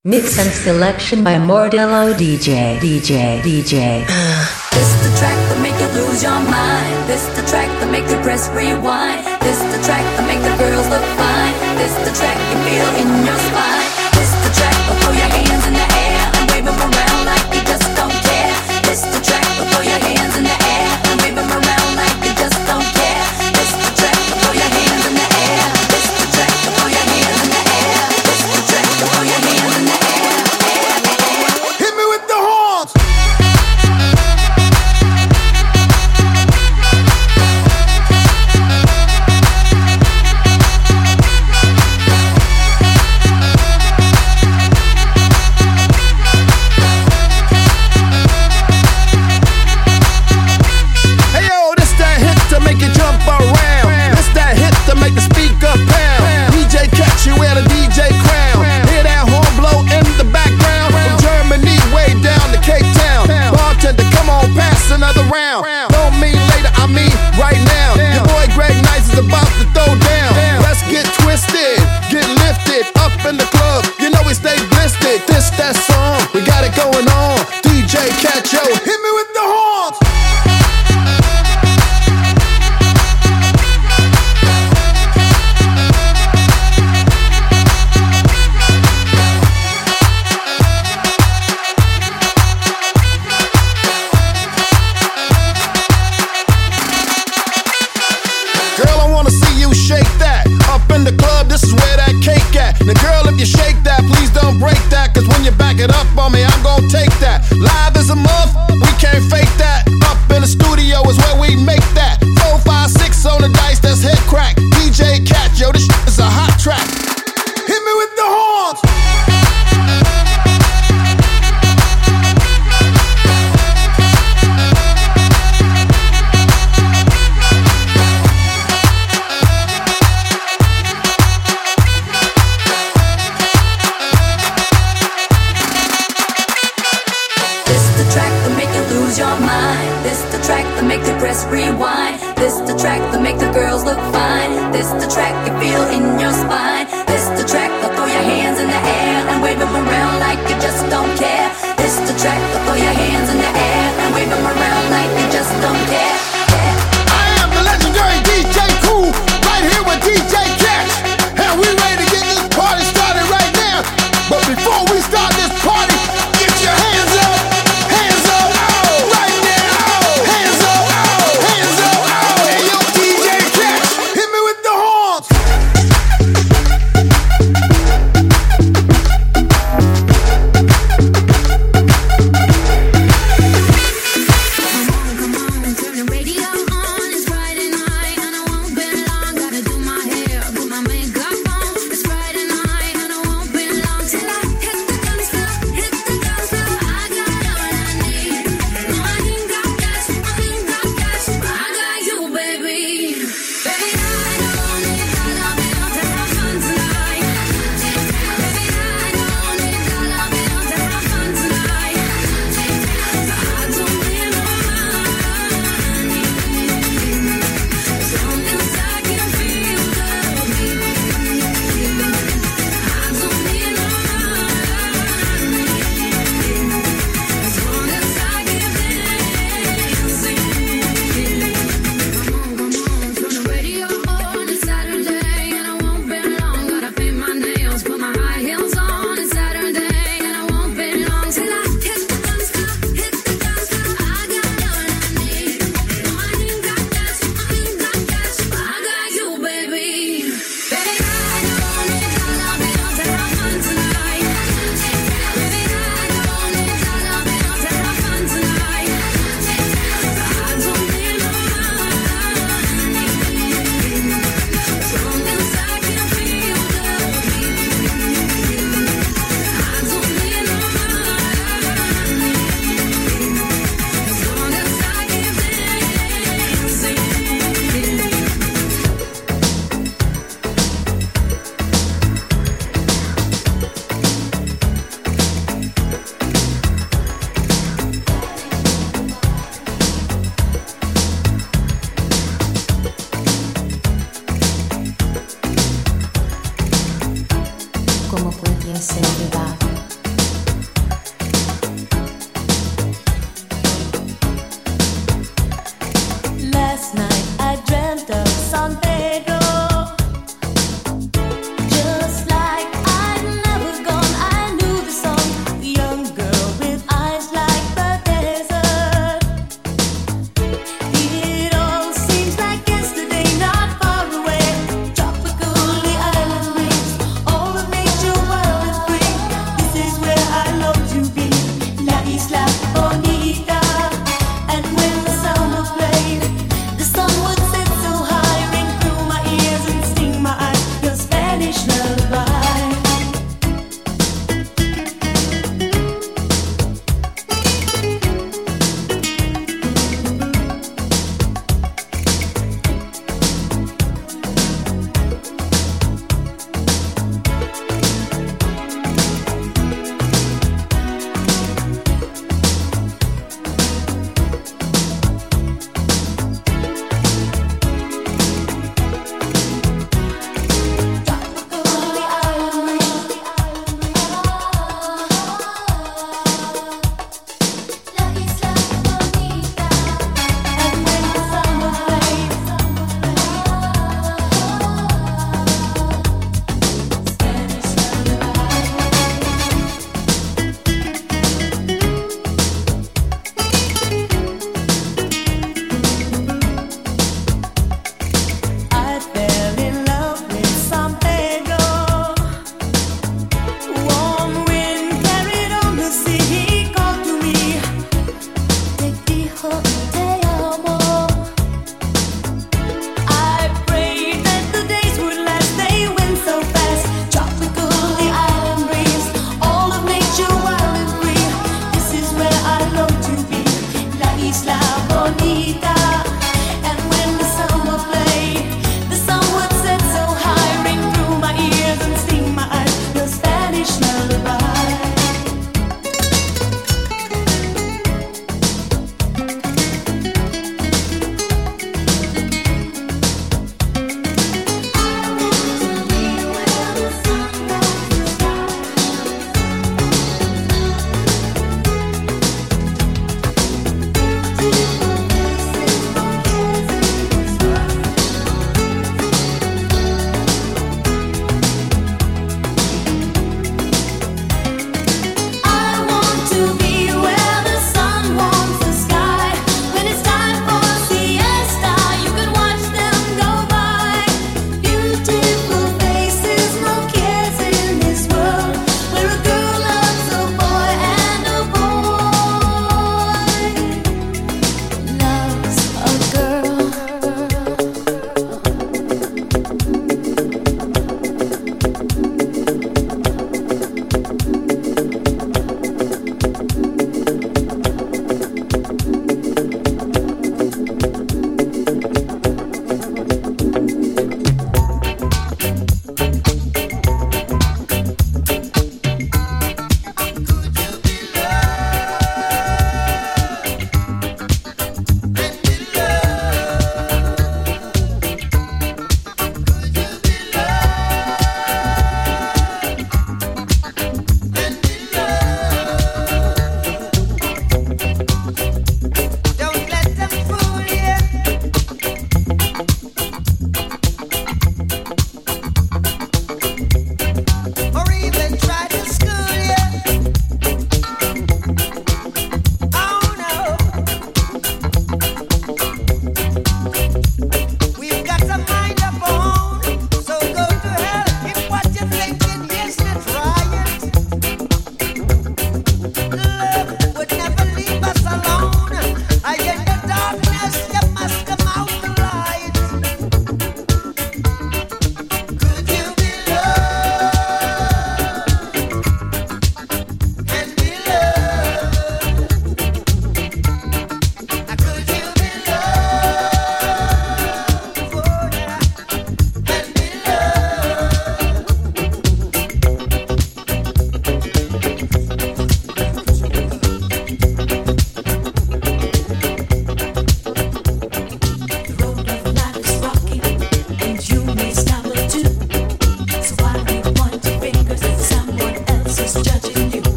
Mix and selection by Mordello DJ. This the track that make you lose your mind. This the track that make you press rewind. This the track that make the girls look fine. This the track you feel in your spine. This the track that throw your hands in the air and wave them around like you just don't care. This the track that throw your hands in the air and wave them around like you just don't care. This the track that throw your hands in the air. This the track that throw your hands in the air. This the track that throw your hands in the air. Hit me with the horns. Another round. Don't mean later, I mean right now. Your boy Greg Nice is about to throw down. Let's get twisted, get lifted up in the club. You know we stay blistered. This that song, we got it going on. DJ Catch, yo, hit me with the horns. Now girl, if you shake that, please don't break that. Cause when you back it up on me, I'm gon' take that. Live as a month, we can't fake that. Up in the studio is where we make that. 4, 5, 6 on the dice, that's head crack. DJ Cat, yo, this is a hot track. Hit me with the horns. Press rewind. This the track that make the girls look fine. This the track you feel in your spine. This the track that throw your hands in the air and wave them around like you just don't care. This the track that throw your hands in the air and wave them around like you just don't care. I am the legendary DJ Cool, right here with DJ Cash, and we ready to get this party started right now. But before we start this party, get your hands up, hands up, right now.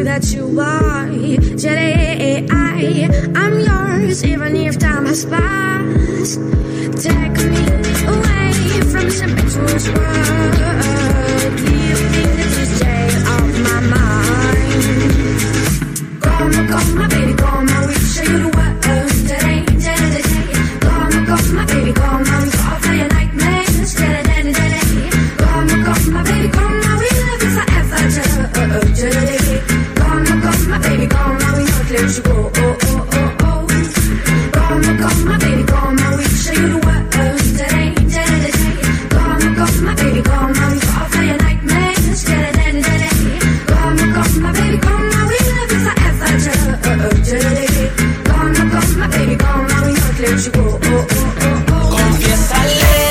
that you are. Today I'm yours, even if time has passed. Take me away from this impetuous world. Give me the stay off my mind. Come, my baby, come, I will show you the world. Today, come, my baby, come, I will fall for your nightmares. Today, come, my baby, come, I will love you forever. Today, come, my baby, come, I will not let you go. Come, my baby, come, I will show you the world. Today, come, my baby, come, I will fall for your nightmares. Today, come, my baby, come, I will love you forever. Today, come, my baby, come, I will not let you go. Confiésale,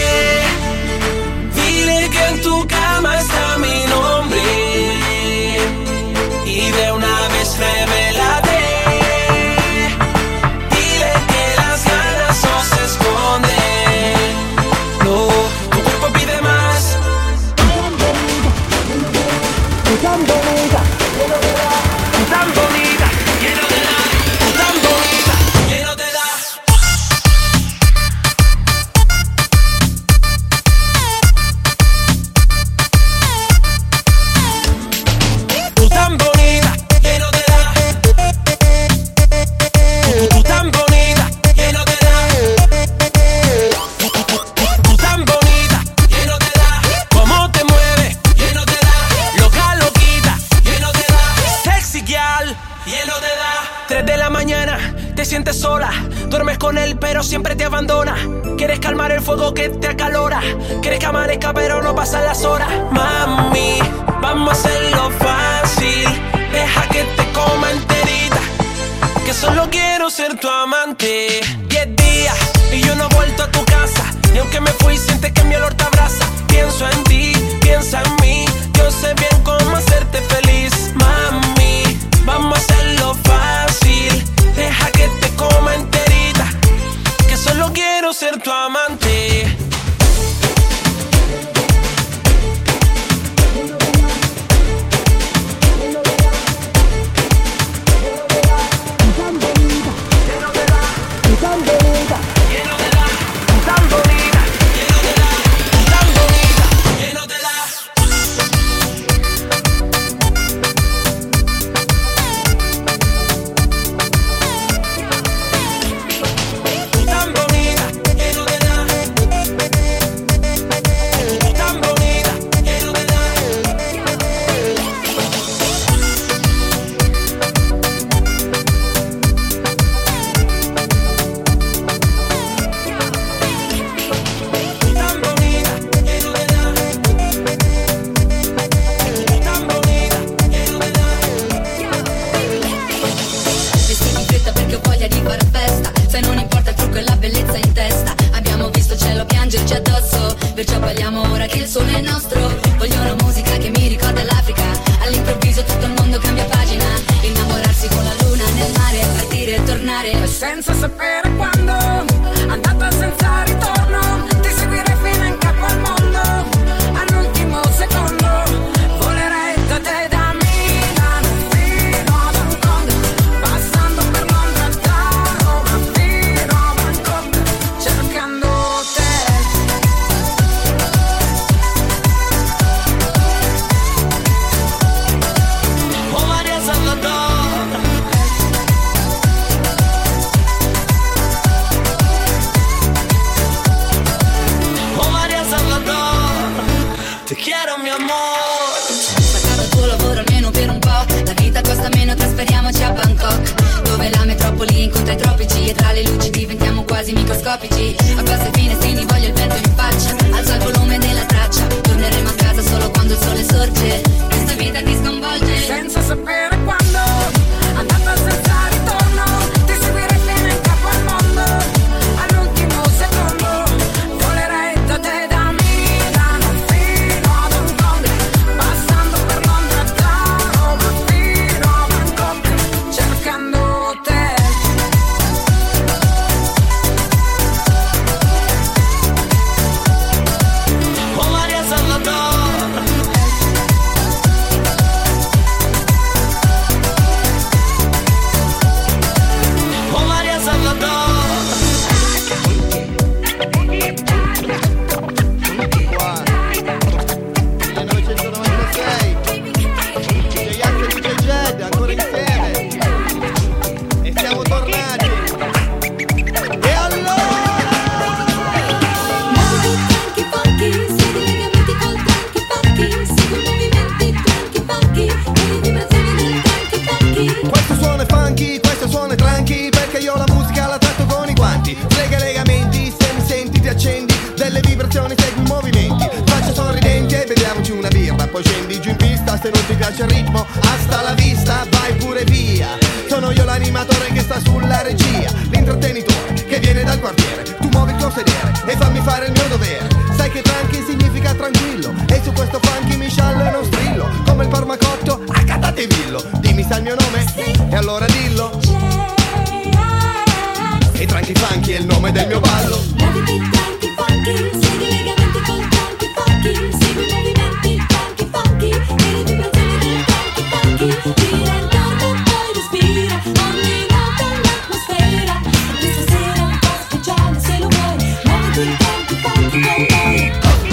dile que en tu cama está mi nombre y de una vez revélate. Dile que las ganas no se esconden. No, tu cuerpo pide más. Tan bonita, tan bonita, lleno de la, tan bonita, lleno de la. Tú tan bonita, lleno de la. Tú tan bonita, lleno de la. Tú tan bonita, lleno de la. Cómo te mueves, lleno de la. Loca, loquita, lleno de la. Sexy girl, lleno de la. 3 de la mañana, te sientes sola. Duermes con él pero siempre te abandona. Quieres calmar el fuego que te acalora. Quieres que amanezca pero no pasan las horas. Mami, vamos a hacerlo fácil. Deja que te coma enterita. Que solo quiero ser tu amante. 10 días y yo no he vuelto a tu casa. Y aunque me fui sientes que mi olor te abraza. Pienso en ti, piensa en mí. Yo sé bien cómo hacerte feliz. Mami, vamos a hacerlo fácil. Deja que te coma enterita. Que solo quiero ser tu amante. Perciò balliamo ora che il sole è nostro. Voglio una musica che mi ricorda l'Africa. All'improvviso tutto il mondo cambia pagina. Innamorarsi con la luna nel mare, partire e tornare senza sapere quando. Andata senza ritorno, ti seguirei fino in capo al mondo. All'ultimo secondo volerei da te, da Milano fino ad Hong Kong, passando per Londra, da Roma fino a Bangkok, cercando te. Te quiero mi amor. Staccato il tuo lavoro almeno per un po'. La vita costa meno, trasferiamoci a Bangkok, dove la metropoli incontra i tropici. E tra le luci diventiamo quasi microscopici. Abbasso i finestrini, voglio il vento in faccia. Alza il volume della traccia. Torneremo a casa solo quando il sole sorge. Questa vita ti sconvolge senza sapere quando. Andata senza ritorno, ti seguirei fino in capo al mondo. All'ultimo secondo volerei da te, da Milano fino ad Hong Kong, passando per Londra, da Roma fino a Bangkok, cercando te. Oh Maria Salvador. funky perché io la musica la tratto con i guanti. Frega i legamenti, se mi senti ti accendi, delle vibrazioni segui i movimenti. Faccia sorridenti e beviamoci una birra, poi scendi giù in pista. Se non ti piace il ritmo, hasta la vista, vai pure via. Sono io l'animatore che sta sulla regia, l'intrattenitore che viene dal quartiere. Tu muovi il tuo sedere e fammi fare il mio dovere. Sai che tranqui significa tranquillo, e su questo funky mi sciallo e non strillo, come il parmacotto a Catatevillo. Dimmi sai il mio nome? Sì. E allora dillo. E tranqui funky è il nome del mio ballo. Muoviti tranqui funky, segui i legamenti con tranqui funky, segui i movimenti tranqui funky, e le vibrazioni del tranqui funky. Gira intorno e poi respira, ogni nota l'atmosfera. Questa sera un po' speciale se lo vuoi, muoviti tranqui funky con noi.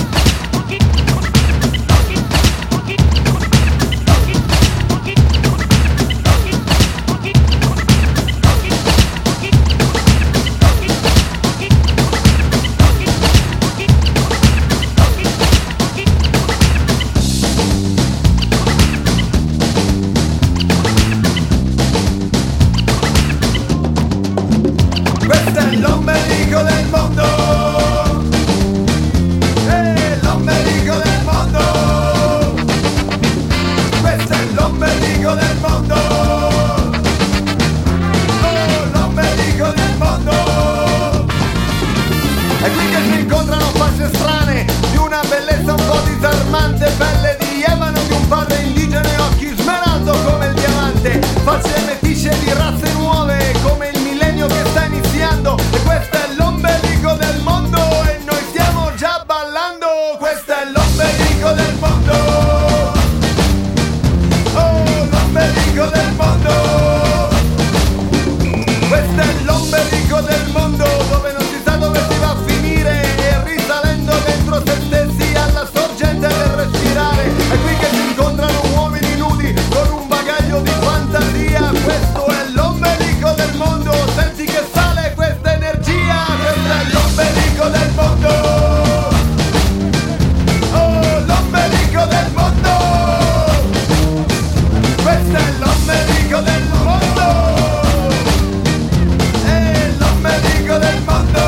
Questo è l'ombelico del mondo, l'ombelico del mondo. Questo è l'ombelico del mondo, oh, l'ombelico del mondo. È qui che si incontrano facce strane, di una bellezza un po' disarmante, pelle di ebano di un padre indigeno e occhi smeraldo come il diamante, facce metisce di razze nuove come il millennio che sta iniziando. E questo è l'ombelico del mondo e noi stiamo già ballando. Questo è l'ombelico del mondo, oh, l'ombelico del mondo. Questo è l'ombelico del mondo, dove non si sa dove si va a finire, e risalendo dentro se stessi alla sorgente del respirare. È qui che si incontrano uomini nudi con un bagaglio di fantasia. Questo è l'ombelico del mondo, senti che sale questa energia. Questo è l'ombelico del mondo, oh, l'ombelico del mondo. Questo è l'ombelico del mondo, l'ombelico del mondo.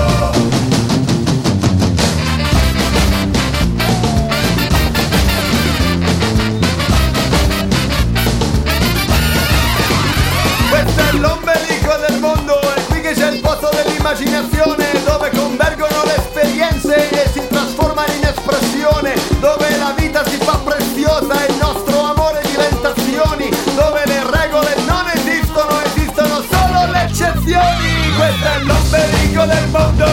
Questo è l'ombelico del mondo, è qui che c'è il posto dell'immaginazione, dove convergono le esperienze e si trasformano in espressione, dove la vita si fa preziosa e il nostro amore diventa azioni, dove le regole non esistono, esistono solo le eccezioni. Questo è l'ombelico del mondo,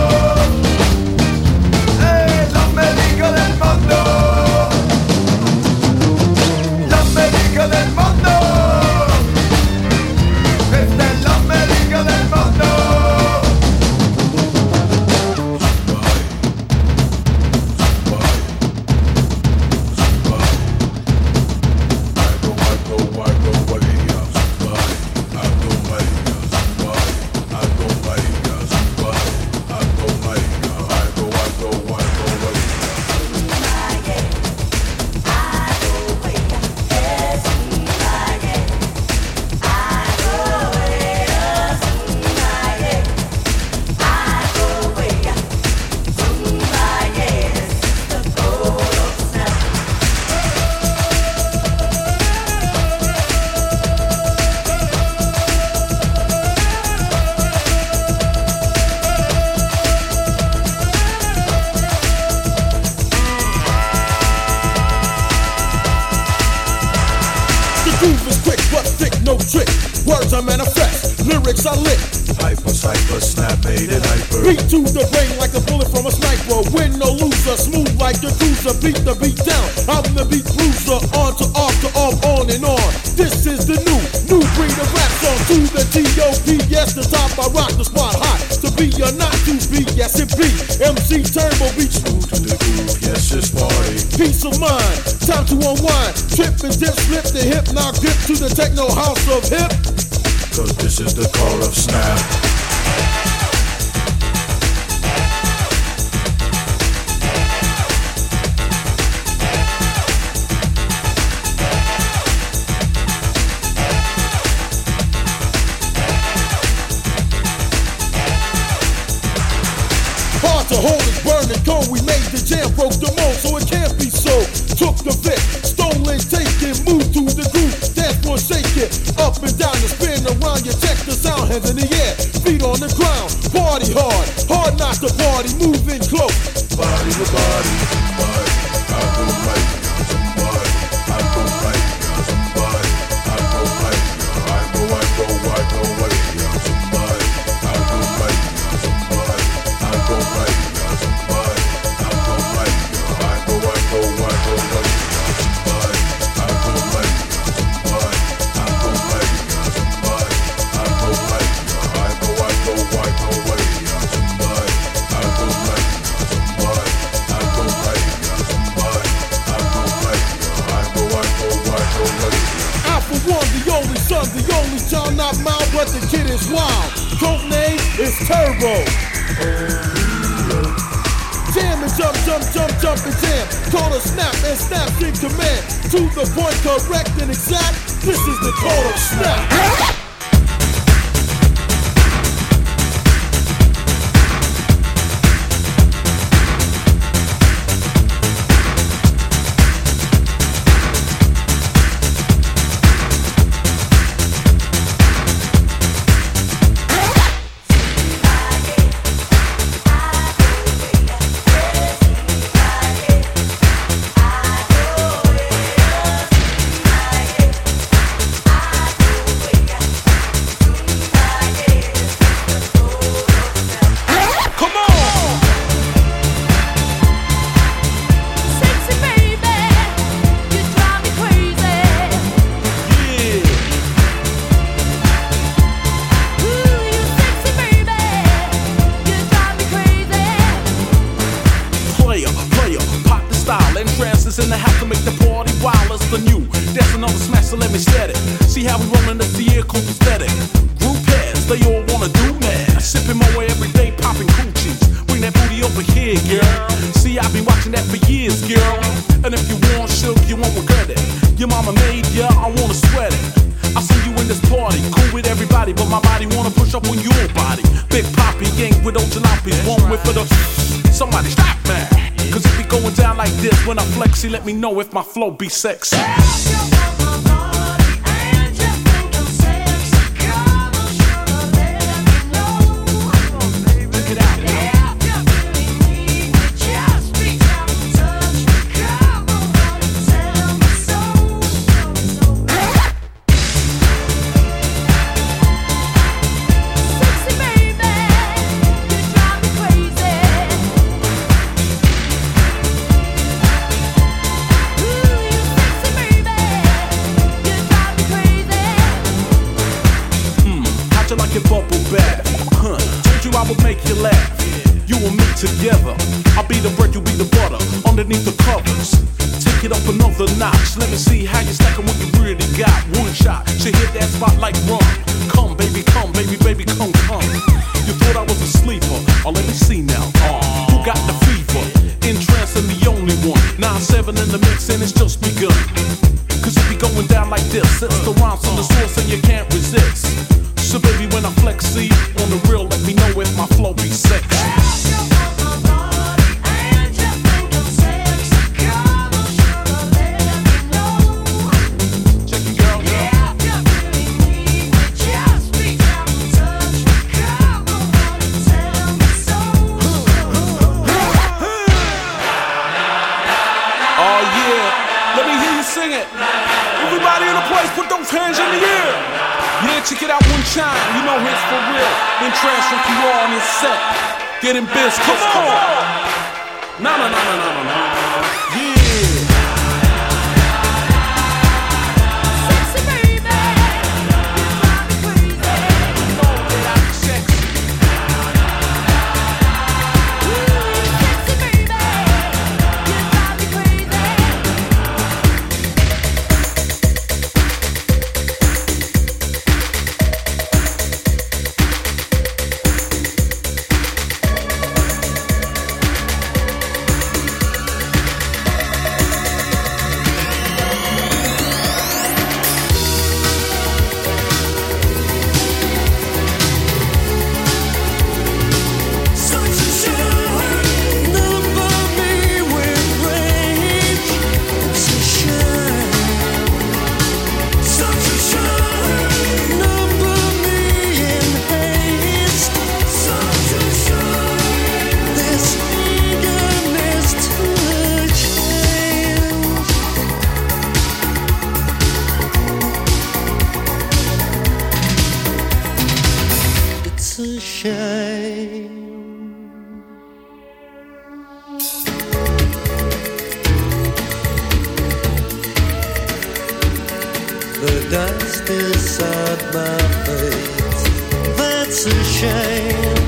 l'ombelico del mondo, l'ombelico del mondo. Questo è l'ombelico del mondo. Words I manifest, lyrics I lit. Hyper, cypher, snap, made it hyper. Beat to the brain like a bullet from a sniper. Win no loser, smooth like the cruiser. Beat the beat down, I'm the beat bruiser. On to off, on and on. This is the new breed of rap song. To the T.O.P. Yes, the top I rock the spot hot. To be or not to be, yes it be. MC Turbo beats Smooth to the groove, yes it's party. Peace of mind, time to unwind. Trip and dip, slip the hip, now grip to the techno house of hip. Cause this is the call of snap. to hold it, burn it, go. We made the jam, broke the mold, so it can't be so. Took the Vic, stolen, taken, moved to the groove. Dance floor, shake it, up and down and spin around. You check the sound, hands in the air, feet on the ground. Party hard, hard not to party, moving close. Body to body, somebody, I go right, somebody, I go right, somebody, I go right, I go right, somebody, I go right, somebody, I go right, somebody, I go right, I go right, somebody, I go right, somebody, I go right, somebody, I go right, somebody, I go right, I go right, somebody, I go right. For one, the only son, the only child, not mine, but the kid is wild. Code name is Turbo. Jam and jump, jump, jump, jump and jam. Call a snap and snap in command. To the point, correct and exact. This is the code of snap. In the house to make the party wild as the new. That's another smash, so let me set it. See how we rollin' up the air, cool aesthetic. Group heads, they all wanna do that. Sippin' my way every day, poppin' coochies. Bring that booty over here, girl. See, I've been watching that for years, girl. And if you want shook, you won't regret it. Your mama made ya, I wanna sweat it. I see you in this party, cool with everybody, but my body wanna push up on your body. Big Poppy, gang with old jalopies, one whip for the. Somebody stop me. Cause it be going down like this when I flex, let me know if my flow be sexy. Together, I'll be the bread, you be the butter. Underneath the covers, take it up another notch. Let me see how you stackin' what you really got. One shot, she hit that spot like rum. Come, baby, baby, come, come. You thought I was a sleeper? Oh, let me see now. Who got the fever? Entrance and the only one. 9-7 in the mix and it's just begun. Cause it be going down like this. It's the rhymes from the source and you can't resist. So baby, when I flex, see on the real, let me know if my flow be sexy. Check it out one time, you know it's for real. Then transfer from raw on your set. Getting biz, come on. No. Yeah. Sexy baby, you drive me crazy. You know that I'm sexy. Sexy baby, you drive me crazy. a shame. The dust inside my face, that's a shame.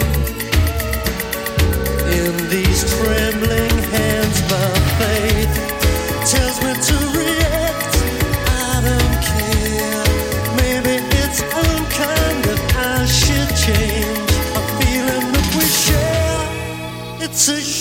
In these trembling hands, my faith tells me to react. I don't care. Maybe it's unkind that I should change. A feeling that we share, it's a